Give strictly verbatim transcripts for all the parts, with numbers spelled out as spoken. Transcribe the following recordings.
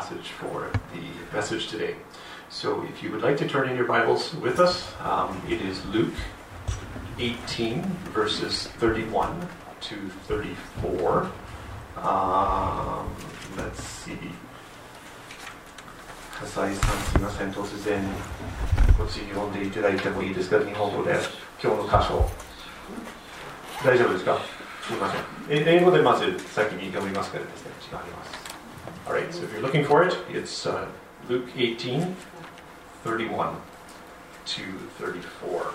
passage for the message today. So if you would like to turn in your Bibles with us, um, it is Luke eighteen, verses thirty-one to thirty-four. Um, let's see. 笠井さん、すみません、突然こっち読んでいただいてもいいですか、日本語で今日の箇所。大丈夫ですか？すみません。英語でまず先に読みますからですね、違います。Alright, so if you're looking for it, it's uh, Luke eighteen, thirty-one to thirty-four.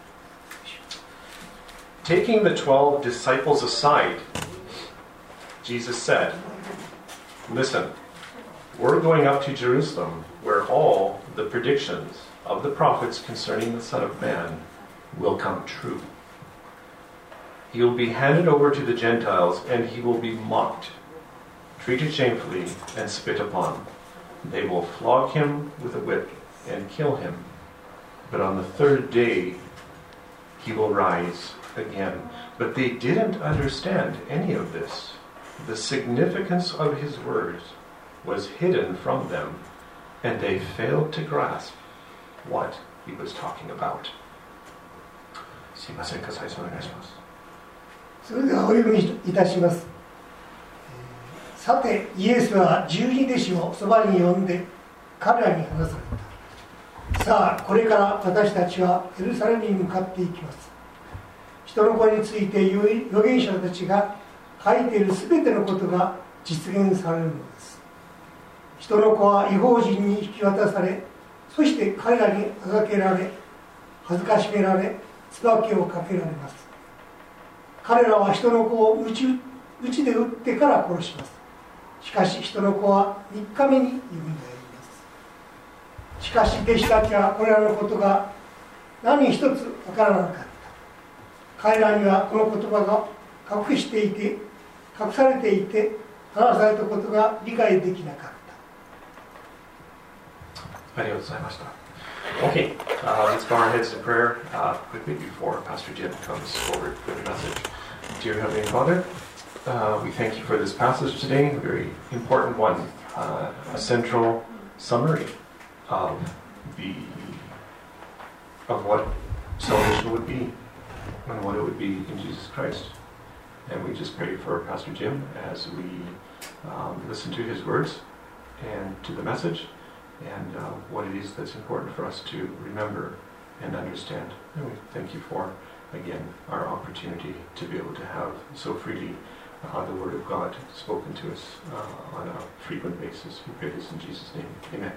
Taking the twelve disciples aside, Jesus said, "Listen, we're going up to Jerusalem, where all the predictions of the prophets concerning the Son of Man will come true. He will be handed over to the Gentiles, and he will be mocked, treated shamefully, and spit upon. They will flog him with a whip and kill him. But on the third day, he will rise again." But they didn't understand any of this. The significance of his words was hidden from them, and they failed to grasp what he was talking about. すいません、笠井さんお願いします。 それではお読みいたします。さて、イエスは十二弟子をそばに呼んで彼らに話された。さあ、これから私たちはエルサレムに向かっていきます。人の子について預言者たちが書いているすべてのことが実現されるのです。人の子は異邦人に引き渡され、そして彼らにあがけられ、恥ずかしめられ、椿をかけられます。彼らは人の子を鞭で打ってから殺します。しかし人の子はみっかめによみがえります。しかし弟子たちはこれらのことが何一つわからなかった。彼らにはこの言葉が隠していて、隠されていて、話されたことが理解できなかった。 ありがとうございました。Okay, uh, let's bow our heads in prayer uh, quickly before Pastor Jim comes forward with the message. Dear Heavenly Father, uh, we thank you for this passage today, a very important one, uh, a central summary of the of what salvation would be and what it would be in Jesus Christ. And we just pray for Pastor Jim as we um, listen to his words and to the message, and uh, what it is that's important for us to remember and understand. And we thank you for, again, our opportunity to be able to have so freely uh, the Word of God spoken to us uh, on a frequent basis. We pray this in Jesus' name. Amen.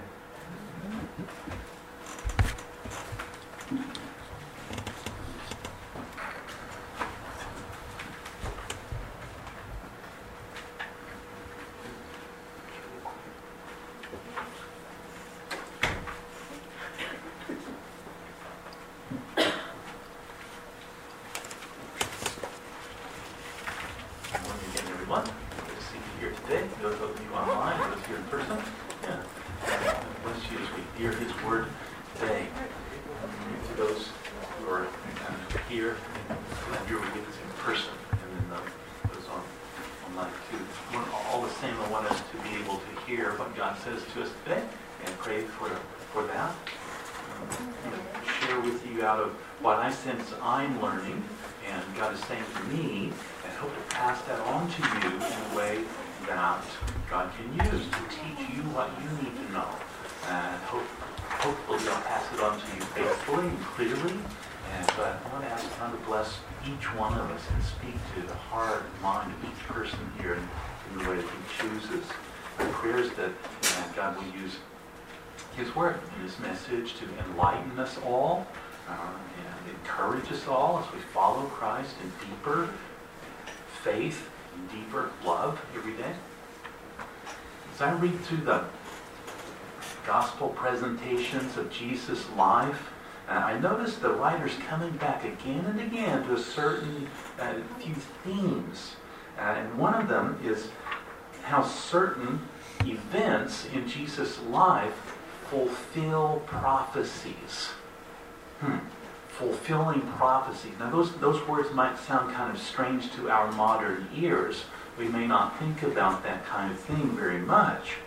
I'm learning, and God is saying to me, and hope to pass that on to you in a way that God can use to teach you what you need to know. And hope, hopefully I'll pass it on to you faithfully and clearly. And but I want to ask God to bless each one of us and speak to the heart and mind of each person here in, in the way that He chooses. My prayer is that uh, God will use His Word and His message to enlighten us all. Uh, and encourage us all as we follow Christ in deeper faith and deeper love every day. As I read through the gospel presentations of Jesus' life, uh, I notice the writers coming back again and again to a certain uh, few themes. Uh, and one of them is how certain events in Jesus' life fulfill prophecies. Hmm. Fulfilling prophecies. Now those, those words might sound kind of strange to our modern ears. We may not think about that kind of thing very much.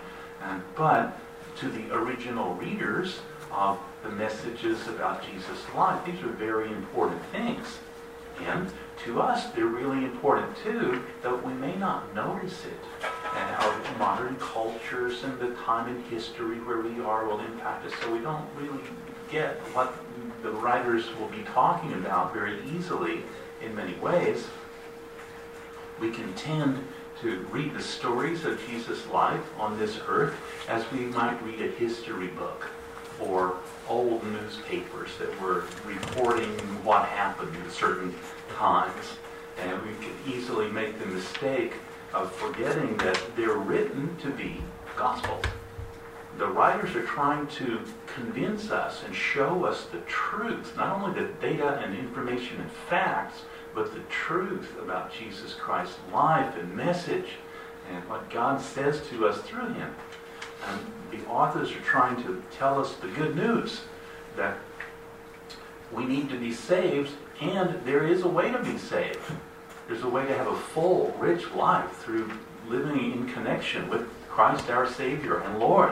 And, but to the original readers of the messages about Jesus' life, these are very important things. And to us, they're really important too, though we may not notice it. And our modern cultures and the time in history where we are will impact us, so we don't really get what the writers will be talking about very easily in many ways. We can tend to read the stories of Jesus' life on this earth as we might read a history book or old newspapers that were reporting what happened at certain times. And we could easily make the mistake of forgetting that they're written to be gospels. The writers are trying to convince us and show us the truth, not only the data and information and facts, but the truth about Jesus Christ's life and message and what God says to us through him. And the authors are trying to tell us the good news that we need to be saved, and there is a way to be saved. There's a way to have a full, rich life through living in connection with Christ our Savior and Lord.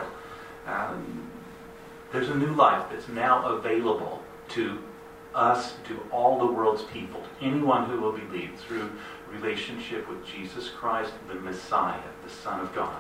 Um, there's a new life that's now available to us, to all the world's people, to anyone who will believe through relationship with Jesus Christ, the Messiah, the Son of God.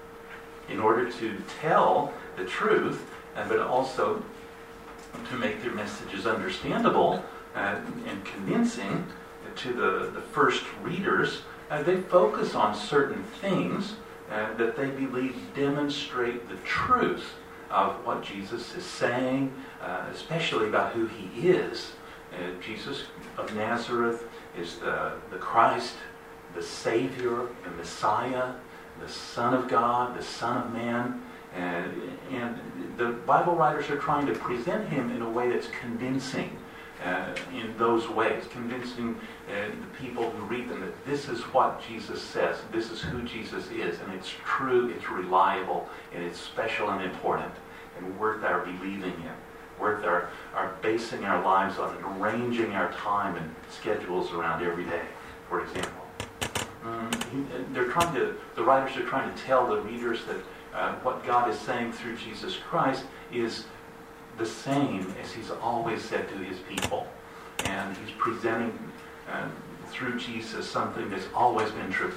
In order to tell the truth, uh, but also to make their messages understandable uh, and convincing to the, the first readers, uh, they focus on certain things uh, that they believe demonstrate the truth of what Jesus is saying, uh, especially about who he is. Uh, Jesus of Nazareth is the, the Christ, the Savior, the Messiah, the Son of God, the Son of Man. And, and the Bible writers are trying to present him in a way that's convincing uh, in those ways, convincing uh, the people who read them that this is what Jesus says, this is who Jesus is, and it's true, it's reliable, and it's special and important, and worth our believing in, worth our, our basing our lives on, and arranging our time and schedules around every day, for example. Um, he, they're trying to, the writers are trying to tell the readers that uh, what God is saying through Jesus Christ is the same as he's always said to his people. And he's presenting uh, through Jesus something that's always been true.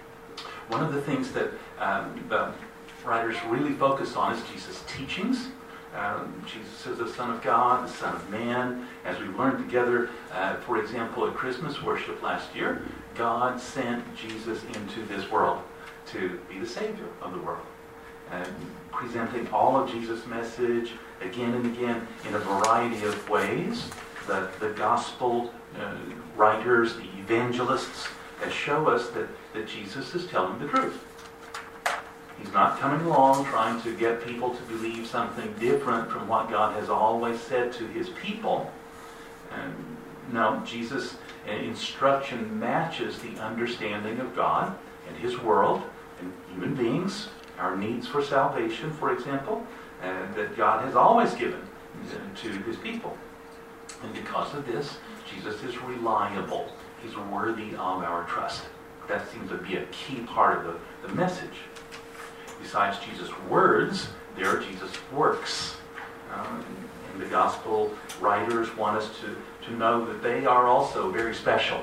One of the things that um, the writers really focus on is Jesus' teachings. Um, Jesus is the Son of God, the Son of Man. As we learned together, uh, for example, at Christmas worship last year, God sent Jesus into this world to be the Savior of the world. And presenting all of Jesus' message again and again in a variety of ways. The, the gospel uh, writers, the evangelists, that show us that, that Jesus is telling the truth. He's not coming along trying to get people to believe something different from what God has always said to his people. And no, Jesus' instruction matches the understanding of God and his world and human beings, our needs for salvation, for example, and that God has always given to his people. And because of this, Jesus is reliable. He's worthy of our trust. That seems to be a key part of the, the message. Besides Jesus' words, there are Jesus' works. Um, and the gospel writers want us to, to know that they are also very special.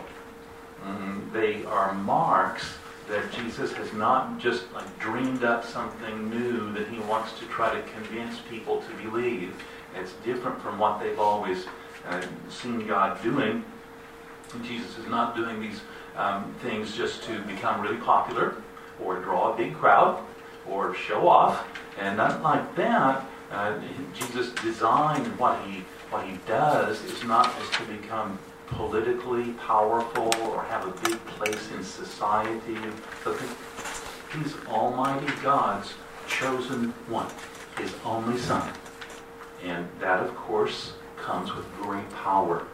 Um, they are marks that Jesus has not just like dreamed up something new that he wants to try to convince people to believe. It's different from what they've always uh, seen God doing. And Jesus is not doing these um, things just to become really popular or draw a big crowd or show off, and not like that. Uh, Jesus' design and what he what he does is not just to become politically powerful or have a big place in society, but he's Almighty God's chosen one, his only Son, and that, of course, comes with great power.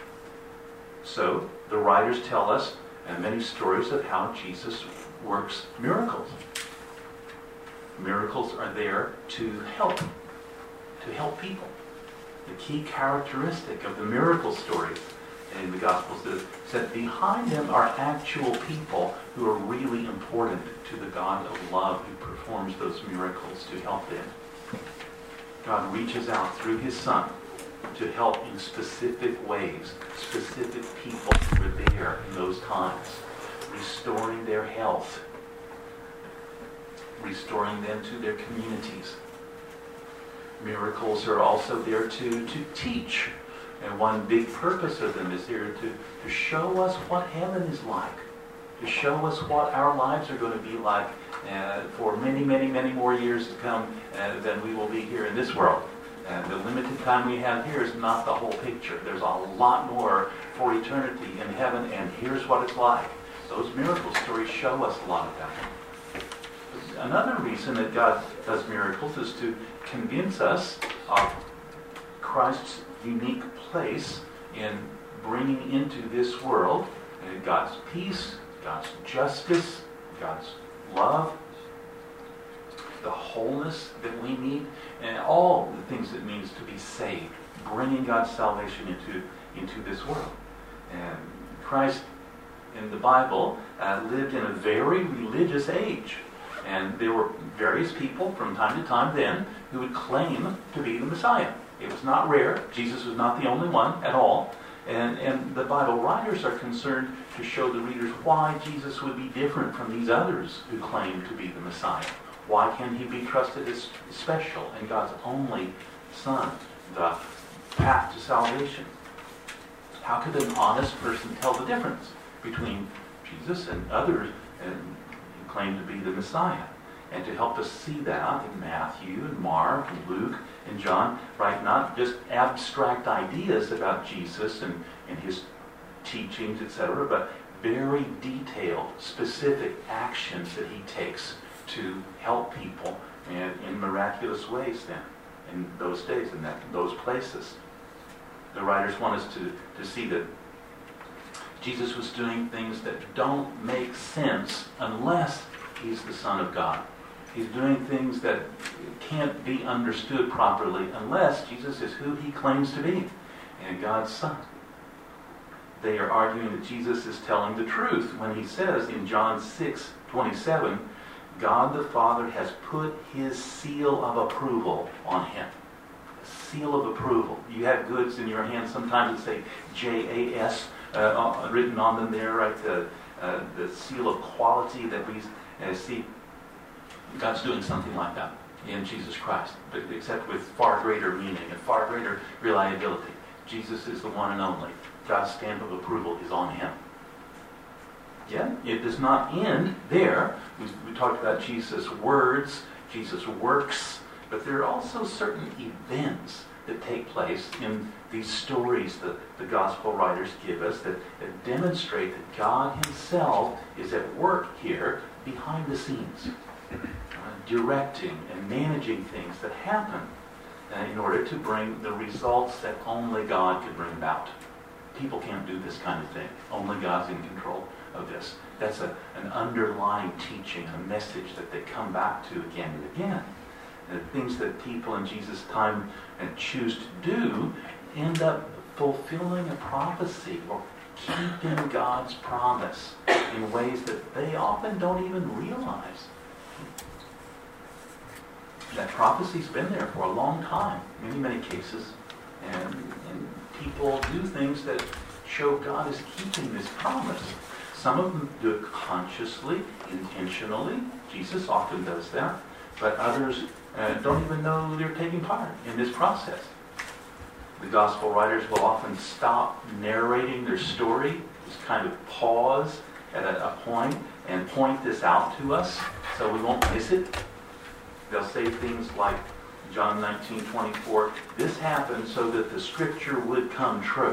So the writers tell us uh, many stories of how Jesus works miracles. Miracles are there to help, to help people. The key characteristic of the miracle stories in the Gospels that said behind them are actual people who are really important to the God of love who performs those miracles to help them. God reaches out through his Son to help in specific ways, specific people who were there in those times, restoring their health, restoring them to their communities. Miracles are also there to, to teach. And one big purpose of them is here to, to show us what heaven is like, to show us what our lives are going to be like uh, for many, many, many more years to come uh, than we will be here in this world. And the limited time we have here is not the whole picture. There's a lot more for eternity in heaven, and here's what it's like. Those miracle stories show us a lot of that. Another reason that God does miracles is to convince us of Christ's unique place in bringing into this world uh, God's peace, God's justice, God's love, the wholeness that we need, and all the things it means to be saved, bringing God's salvation into, into this world. And Christ, in the Bible, uh, lived in a very religious age. And there were various people from time to time then who would claim to be the Messiah. It was not rare. Jesus was not the only one at all. And, and the Bible writers are concerned to show the readers why Jesus would be different from these others who claim to be the Messiah. Why can he be trusted as special and God's only Son, the path to salvation? How could an honest person tell the difference between Jesus and others and who claim to be the Messiah? And to help us see that in Matthew and Mark and Luke and John, right? Not just abstract ideas about Jesus and, and his teachings, et cetera, but very detailed, specific actions that he takes to help people in, in miraculous ways then, in those days, in that, those places. The writers want us to, to see that Jesus was doing things that don't make sense unless he's the Son of God. He's doing things that can't be understood properly unless Jesus is who he claims to be, and God's Son. They are arguing that Jesus is telling the truth when he says in John six twenty-seven, God the Father has put his seal of approval on him. A seal of approval. You have goods in your hand sometimes that say J A S uh, written on them there, right? The, uh, the seal of quality that we uh, see. God's doing something like that in Jesus Christ, but except with far greater meaning and far greater reliability. Jesus is the one and only. God's stamp of approval is on him. Yeah, it does not end there. We, we talked about Jesus' words, Jesus' works, but there are also certain events that take place in these stories that the gospel writers give us that, that demonstrate that God himself is at work here behind the scenes, uh, directing and managing things that happen uh, in order to bring the results that only God can bring about. People can't do this kind of thing. Only God's in control of this. That's a, an underlying teaching, a message that they come back to again and again. The things that people in Jesus' time and choose to do end up fulfilling a prophecy or keeping God's promise in ways that they often don't even realize. That prophecy's been there for a long time, many, many cases, and, and people do things that show God is keeping this promise. Some of them do it consciously, intentionally. Jesus often does that. But others uh, don't even know they're taking part in this process. The gospel writers will often stop narrating their story, just kind of pause at a, a point and point this out to us so we won't miss it. They'll say things like John nineteen twenty-four, this happened so that the scripture would come true.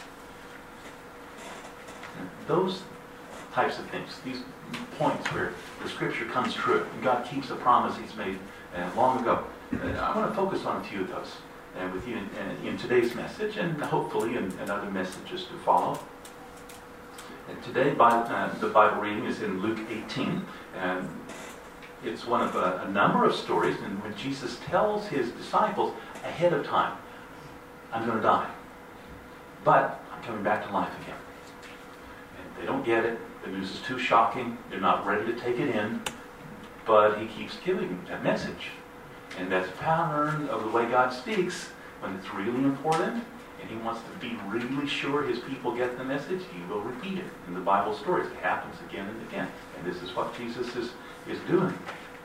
And those types of things, these points where the scripture comes true, and God keeps a promise he's made uh, long ago. Uh, I want to focus on a few of those uh, with you in, uh, in today's message, and hopefully in, in other messages to follow. And today, by, uh, the Bible reading is in Luke eighteen, and it's one of a, a number of stories in which Jesus tells his disciples ahead of time, I'm going to die. But I'm coming back to life again. And they don't get it. The news is too shocking. They're not ready to take it in. But he keeps giving that message. And that's a pattern of the way God speaks. When it's really important and he wants to be really sure his people get the message, he will repeat it. In the Bible stories, it happens again and again. And this is what Jesus is, is doing.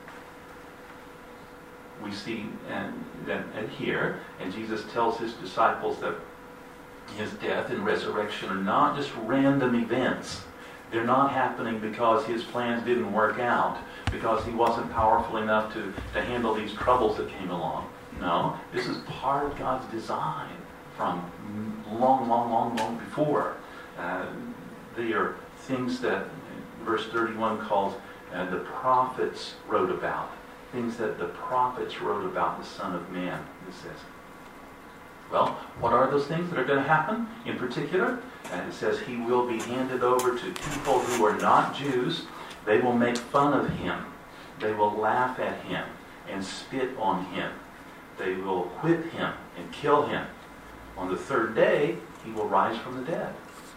We see and, and, and here, and Jesus tells his disciples that his death and resurrection are not just random events. They're not happening because his plans didn't work out, because he wasn't powerful enough to, to handle these troubles that came along. No, this is part of God's design from long, long, long, long before. Uh, they are things that verse thirty-one calls uh, the prophets wrote about. Things that the prophets wrote about the Son of Man, it says. Well, what are those things that are going to happen in particular? And it says he will be handed over to people who are not Jews. They will make fun of him. They will laugh at him and spit on him. They will whip him and kill him. On the third day, he will rise from the dead.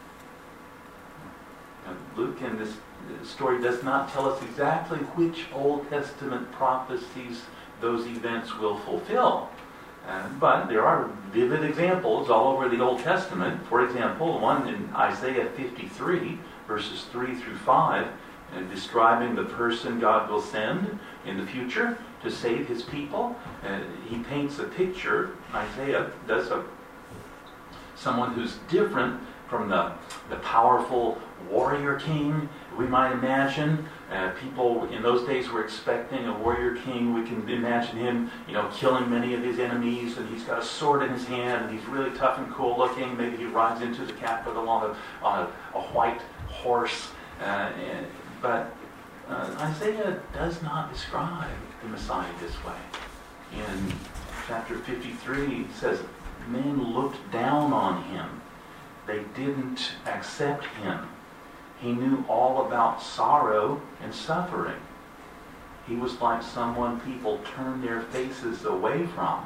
Now, Luke in this story does not tell us exactly which Old Testament prophecies those events will fulfill. Uh, but there are vivid examples all over the Old Testament. For example, one in Isaiah fifty-three, verses three through five, uh, describing the person God will send in the future to save his people. Uh, he paints a picture, Isaiah does, a someone who's different from the, the powerful warrior king we might imagine. Uh, people in those days were expecting a warrior king. We can imagine him, you know, killing many of his enemies, and he's got a sword in his hand, and he's really tough and cool looking. Maybe he rides into the capital on a, on a, a white horse. Uh, and, but uh, Isaiah does not describe the Messiah this way. In chapter fifty-three, it says, men looked down on him. They didn't accept him. He knew all about sorrow and suffering. He was like someone people turned their faces away from.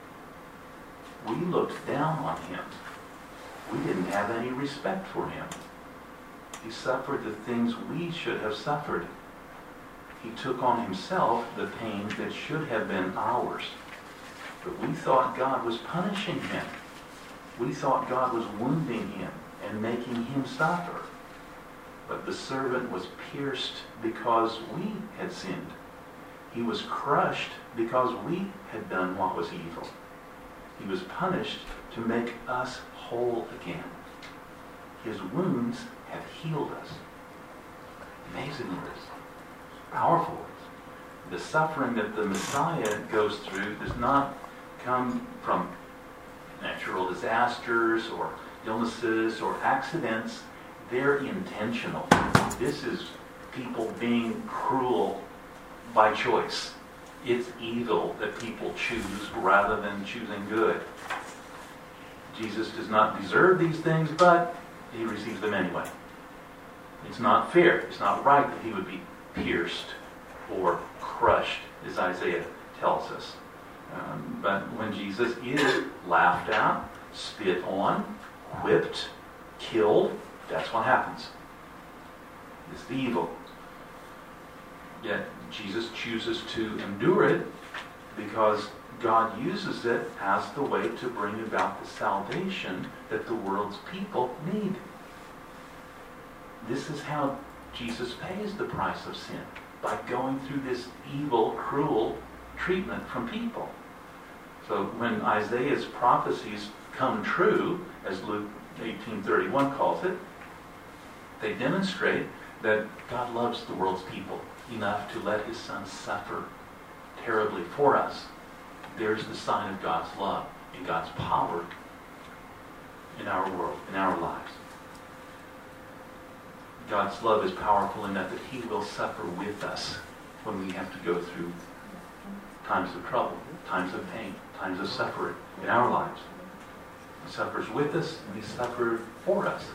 We looked down on him. We didn't have any respect for him. He suffered the things we should have suffered. He took on himself the pain that should have been ours. But we thought God was punishing him. We thought God was wounding him and making him suffer. But the servant was pierced because we had sinned. He was crushed because we had done what was evil. He was punished to make us whole again. His wounds have healed us. Amazing words. Powerful words. The suffering that the Messiah goes through does not come from natural disasters or illnesses or accidents. They're intentional. This is people being cruel by choice. It's evil that people choose rather than choosing good. Jesus does not deserve these things, but he receives them anyway. It's not fair. It's not right that he would be pierced or crushed, as Isaiah tells us. Um, but when Jesus is laughed at, spit on, whipped, killed, that's what happens. It's the evil. Yet Jesus chooses to endure it because God uses it as the way to bring about the salvation that the world's people need. This is how Jesus pays the price of sin, by going through this evil, cruel treatment from people. So when Isaiah's prophecies come true, as Luke eighteen thirty-one calls it, they demonstrate that God loves the world's people enough to let his Son suffer terribly for us. There's the sign of God's love and God's power in our world, in our lives. God's love is powerful enough that he will suffer with us when we have to go through times of trouble, times of pain, times of suffering in our lives. He suffers with us and he suffered for us.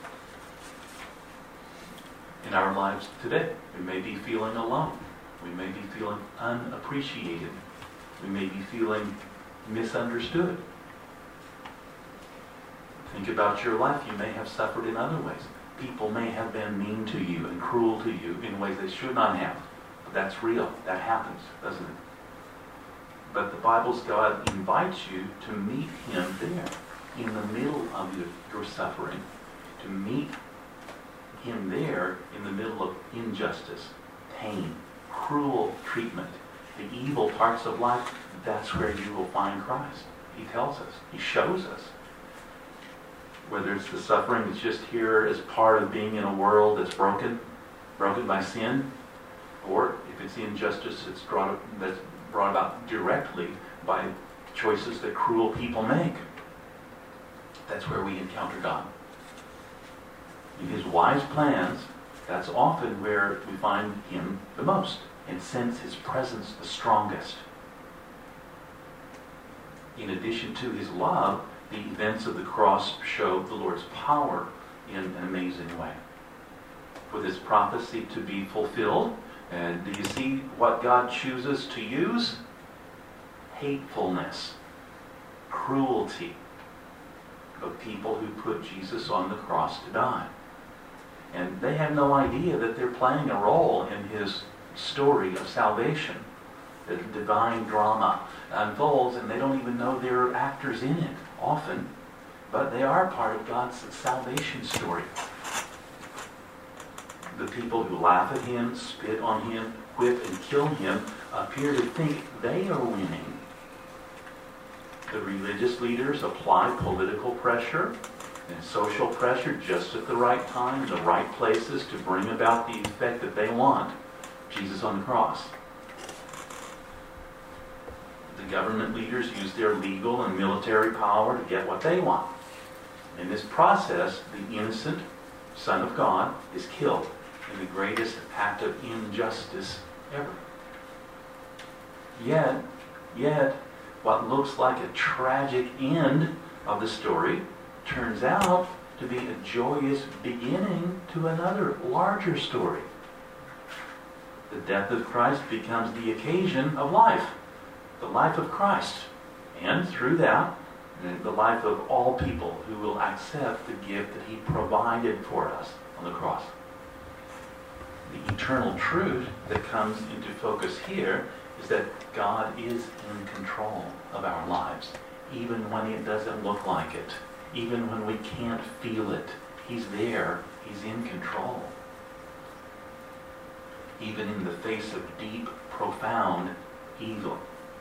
In our lives today, we may be feeling alone. We may be feeling unappreciated. We may be feeling misunderstood. Think about your life. You may have suffered in other ways. People may have been mean to you and cruel to you in ways they should not have. But that's real. That happens, doesn't it? But the Bible's God invites you to meet Him there, in the middle of your, your suffering, to meet Him there in the middle of injustice, pain, cruel treatment, the evil parts of life. That's where you will find Christ. He tells us. He shows us. Whether it's the suffering that's just here as part of being in a world that's broken, broken by sin, or if it's the injustice that's brought, that's brought about directly by choices that cruel people make. That's where we encounter God. In His wise plans, that's often where we find Him the most and sense His presence the strongest. In addition to His love, the events of the cross show the Lord's power in an amazing way. For this prophecy to be fulfilled, and do you see what God chooses to use? Hatefulness, cruelty of people who put Jesus on the cross to die. And they have no idea that they're playing a role in His story of salvation. The divine drama unfolds, and they don't even know they're actors in it, often. But they are part of God's salvation story. The people who laugh at Him, spit on Him, whip and kill Him, appear to think they are winning. The religious leaders apply political pressure and social pressure just at the right time, in the right places, to bring about the effect that they want. Jesus on the cross. The government leaders use their legal and military power to get what they want. In this process, the innocent Son of God is killed in the greatest act of injustice ever. Yet, yet, what looks like a tragic end of the story turns out to be a joyous beginning to another larger story. The death of Christ becomes the occasion of life, the life of Christ, and through that, the life of all people who will accept the gift that He provided for us on the cross. The eternal truth that comes into focus here is that God is in control of our lives, even when it doesn't look like it, even when we can't feel it. He's there. He's in control. Even in the face of deep, profound evil.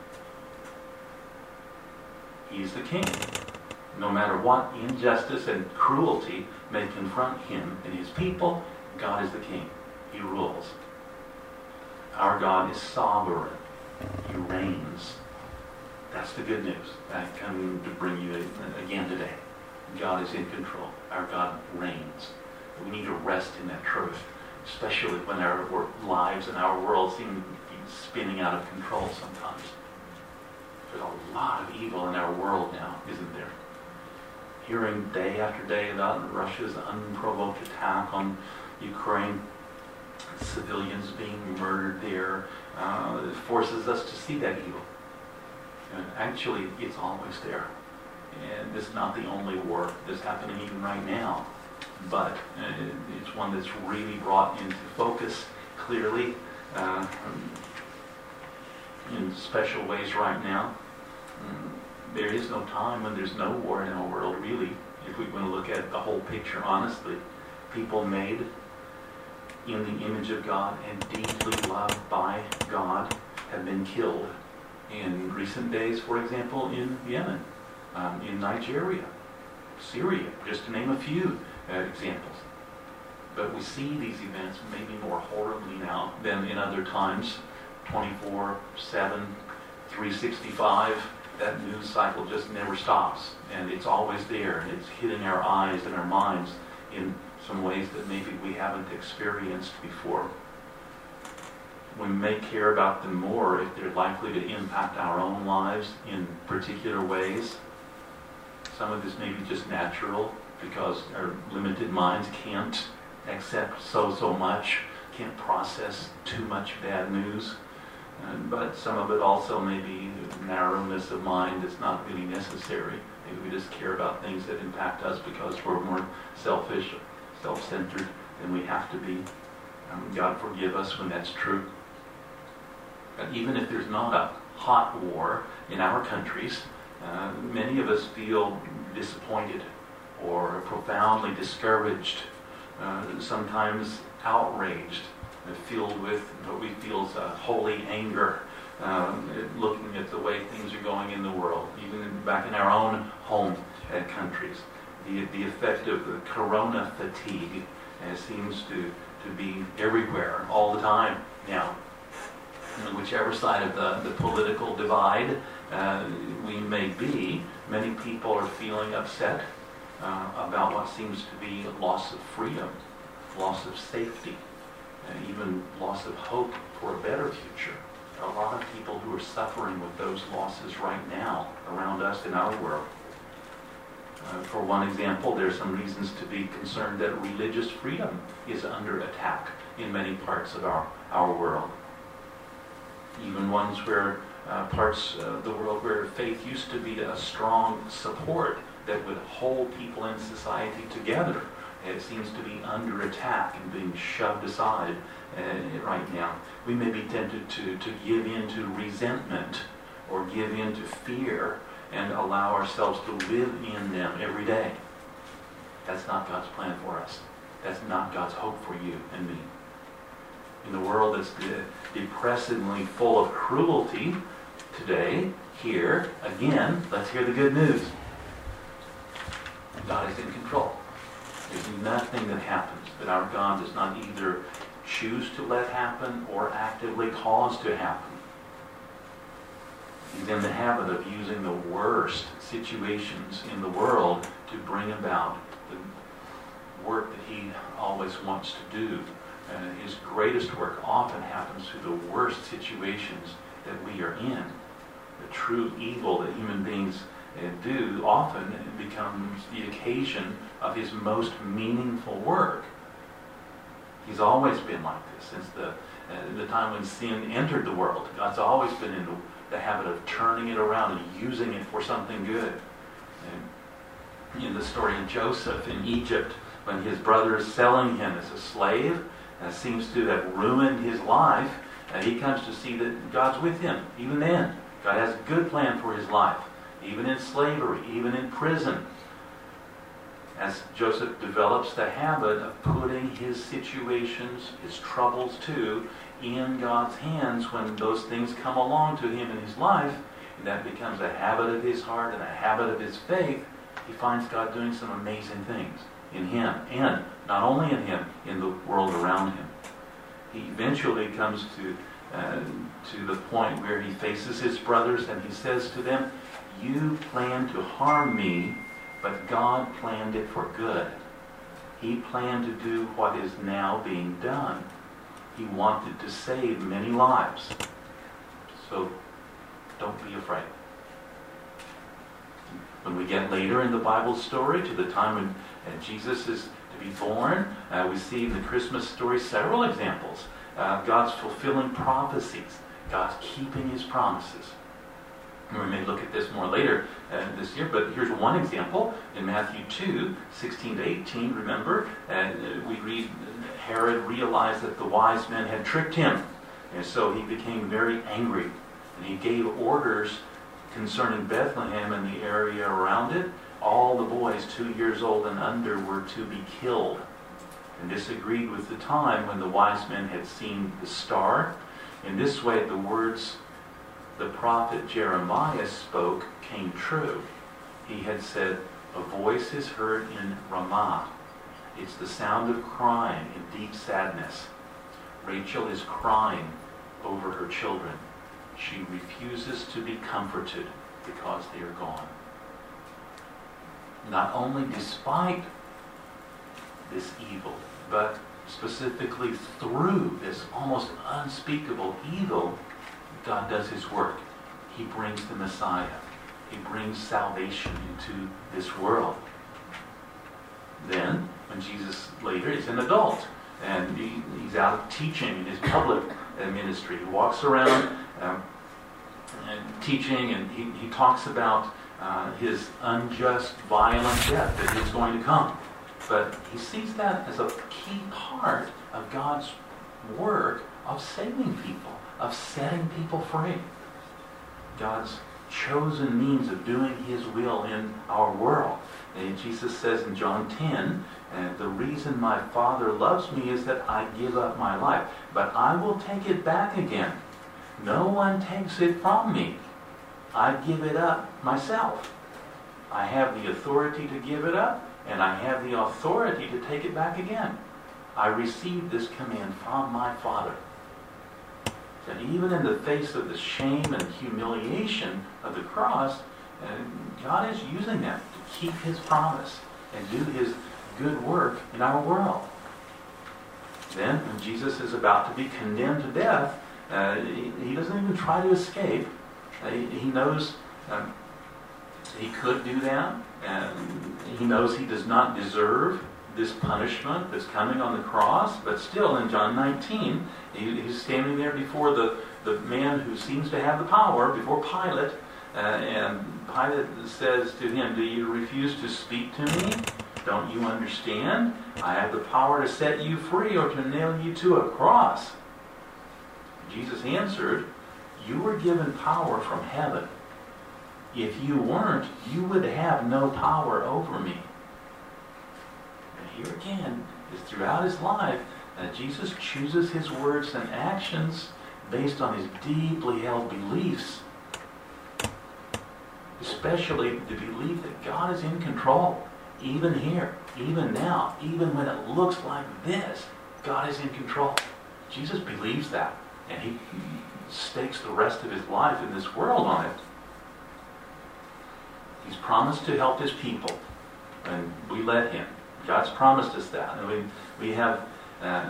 He's the King. No matter what injustice and cruelty may confront Him and His people, God is the King. He rules. Our God is sovereign. He reigns. That's the good news. I come to bring you again today. God is in control. Our God reigns. We need to rest in that truth, especially when our lives and our world seem to be spinning out of control sometimes. There's a lot of evil in our world now, isn't there? Hearing day after day about Russia's unprovoked attack on Ukraine, civilians being murdered there, uh, it forces us to see that evil. And actually, it's always there. And this is not the only war that's happening even right now, but uh, it's one that's really brought into focus clearly uh, in special ways right now. Um, there is no time when there's no war in our world, really, if we want to look at the whole picture honestly. People made in the image of God and deeply loved by God have been killed in recent days, for example, in Yemen, um, in Nigeria, Syria, just to name a few uh, examples. But we see these events maybe more horribly now than in other times, twenty-four seven, three sixty-five. That news cycle just never stops, and it's always there, and it's hitting our eyes and our minds in some ways that maybe we haven't experienced before. We may care about them more if they're likely to impact our own lives in particular ways. Some of this may be just natural because our limited minds can't accept so, so much, can't process too much bad news. Uh, but some of it also may be narrowness of mind that's not really necessary. Maybe we just care about things that impact us because we're more selfish, self-centered than we have to be. Um, God forgive us when that's true. But even if there's not a hot war in our countries, uh, many of us feel disappointed or profoundly discouraged, uh, sometimes outraged, uh, filled with what we feel is a holy anger, um, looking at the way things are going in the world, even back in our own home uh, countries. The, the effect of the corona fatigue uh, seems to, to be everywhere, all the time now. And whichever side of the, the political divide uh, we may be, many people are feeling upset uh, about what seems to be loss of freedom, loss of safety, and even loss of hope for a better future. There are a lot of people who are suffering with those losses right now around us in our world. Uh, for one example, there's some reasons to be concerned that religious freedom is under attack in many parts of our, our world. Even ones where uh, parts of the world where faith used to be a strong support that would hold people in society together. It seems to be under attack and being shoved aside uh, right now. We may be tempted to, to give in to resentment or give in to fear and allow ourselves to live in them every day. That's not God's plan for us. That's not God's hope for you and me. In the world that's de- depressingly full of cruelty today, here, again, let's hear the good news. God is in control. There's nothing that happens that our God does not either choose to let happen or actively cause to happen. He's in the habit of using the worst situations in the world to bring about the work that he always wants to do. And his greatest work often happens through the worst situations that we are in. The true evil that human beings uh, do often becomes the occasion of his most meaningful work. He's always been like this since the, uh, the time when sin entered the world. God's always been in the, the habit of turning it around and using it for something good. And in the story of Joseph in Egypt, when his brothers selling him as a slave, Uh, seems to have ruined his life, and he comes to see that God's with him, even then. God has a good plan for his life, even in slavery, even in prison. As Joseph develops the habit of putting his situations, his troubles too, in God's hands when those things come along to him in his life, and that becomes a habit of his heart and a habit of his faith, he finds God doing some amazing things in him, and not only in him, in the world around him. He eventually comes to uh, to the point where he faces his brothers and he says to them, "You planned to harm me, but God planned it for good. He planned to do what is now being done. He wanted to save many lives. So don't be afraid." When we get later in the Bible story to the time when and Jesus is to be born, Uh, we see in the Christmas story several examples. Uh, God's fulfilling prophecies. God's keeping his promises. And we may look at this more later uh, this year, but here's one example. In Matthew two, sixteen to eighteen, remember, uh, we read Herod realized that the wise men had tricked him. And so he became very angry. And he gave orders concerning Bethlehem and the area around it. All the boys two years old and under were to be killed. And this agreed with the time when the wise men had seen the star. In this way, the words the prophet Jeremiah spoke came true. He had said, "A voice is heard in Ramah. It's the sound of crying in deep sadness. Rachel is crying over her children. She refuses to be comforted because they are gone." Not only despite this evil, but specifically through this almost unspeakable evil, God does his work. He brings the Messiah. He brings salvation into this world. Then, when Jesus later is an adult, and he, he's out teaching in his public ministry, he walks around um, and teaching, and he, he talks about uh, his unjust, violent death that is going to come. But he sees that as a key part of God's work of saving people, of setting people free. God's chosen means of doing his will in our world. And Jesus says in John ten, and the reason my Father loves me is that I give up my life, but I will take it back again. No one takes it from me. I give it up myself. I have the authority to give it up, and I have the authority to take it back again. I received this command from my Father. And even in the face of the shame and humiliation of the cross, uh, God is using that to keep his promise and do his good work in our world. Then, when Jesus is about to be condemned to death, uh, he, he doesn't even try to escape. Uh, he, he knows um, he could do that, and he knows he does not deserve this punishment that's coming on the cross, but still in John nineteen, he, he's standing there before the, the man who seems to have the power, before Pilate, uh, and Pilate says to him, do you refuse to speak to me? Don't you understand? I have the power to set you free or to nail you to a cross. Jesus answered, you were given power from heaven. If you weren't, you would have no power over me. And here again, is throughout his life, uh, Jesus chooses his words and actions based on his deeply held beliefs. Especially the belief that God is in control. Even here, even now, even when it looks like this, God is in control. Jesus believes that, and he stakes the rest of his life in this world on it. He's promised to help his people, and we let him. God's promised us that. And we, we have uh,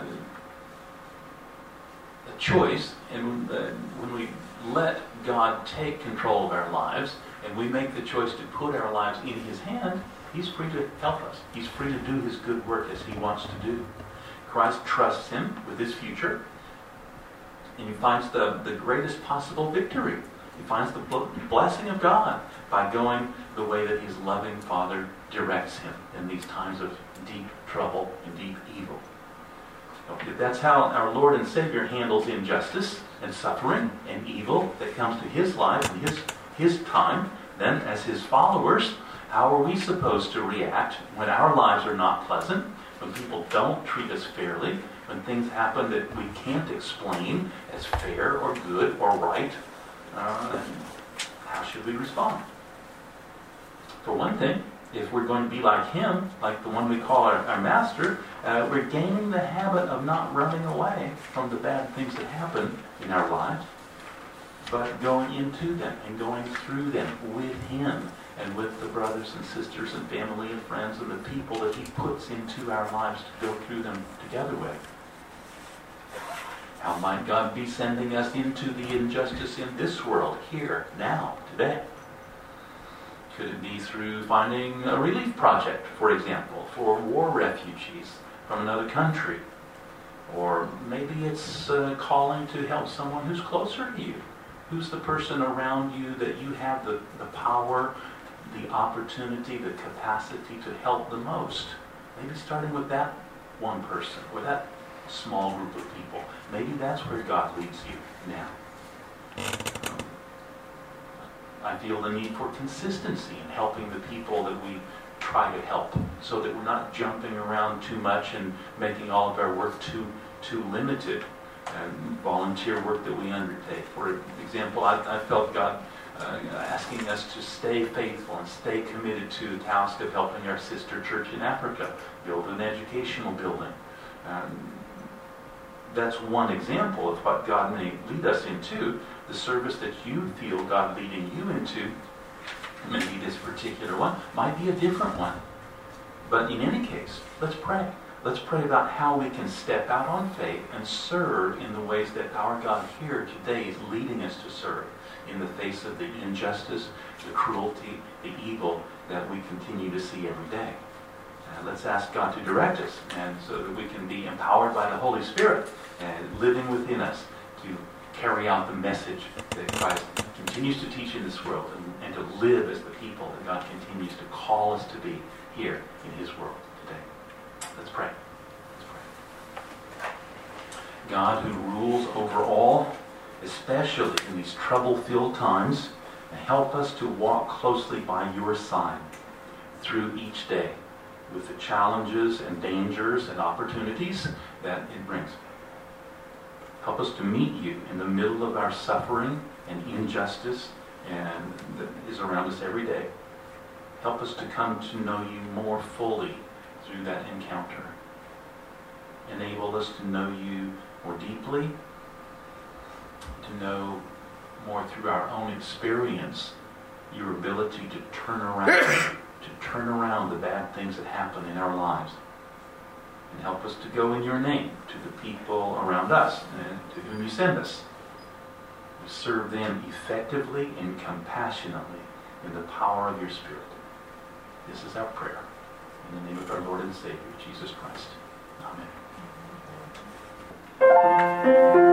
a choice, and uh, when we let God take control of our lives, and we make the choice to put our lives in his hand, he's free to help us. He's free to do his good work as he wants to do. Christ trusts him with his future, and he finds the, the greatest possible victory. He finds the blessing of God by going the way that his loving Father directs him in these times of deep trouble and deep evil. If that's how our Lord and Savior handles injustice and suffering and evil that comes to his life and his, his time, then as his followers, how are we supposed to react when our lives are not pleasant, when people don't treat us fairly, when things happen that we can't explain as fair or good or right? Uh, how should we respond? For one thing, if we're going to be like him, like the one we call our, our master, uh, we're gaining the habit of not running away from the bad things that happen in our lives, but going into them and going through them with him and with the brothers and sisters and family and friends and the people that he puts into our lives to go through them together with. How might God be sending us into the injustice in this world, here, now, today? Could it be through finding a relief project, for example, for war refugees from another country? Or maybe it's uh, calling to help someone who's closer to you. Who's the person around you that you have the, the power, the opportunity, the capacity to help the most? Maybe starting with that one person or that small group of people. Maybe that's where God leads you now. Um, I feel the need for consistency in helping the people that we try to help, so that we're not jumping around too much and making all of our work too too limited. And volunteer work that we undertake. For example, I, I felt God uh, asking us to stay faithful and stay committed to the task of helping our sister church in Africa build an educational building. Um, that's one example of what God may lead us into. The service that you feel God leading you into, maybe this particular one, might be a different one. But in any case, let's pray. Let's pray about how we can step out on faith and serve in the ways that our God here today is leading us to serve in the face of the injustice, the cruelty, the evil that we continue to see every day. Uh, let's ask God to direct us, and so that we can be empowered by the Holy Spirit and living within us to carry out the message that Christ continues to teach in this world and, and to live as the people that God continues to call us to be here in His world today. Let's pray. Let's pray. God, who rules over all, especially in these trouble-filled times, help us to walk closely by your side through each day with the challenges and dangers and opportunities that it brings. Help us to meet you in the middle of our suffering and injustice and that is around us every day. Help us to come to know you more fully through that encounter. Enable us to know you more deeply, to know more through our own experience, your ability to turn around, to turn around the bad things that happen in our lives. And help us to go in your name to the people around us and to whom you send us. We serve them effectively and compassionately in the power of your Spirit. This is our prayer. In the name of our Lord and Savior, Jesus Christ. Amen.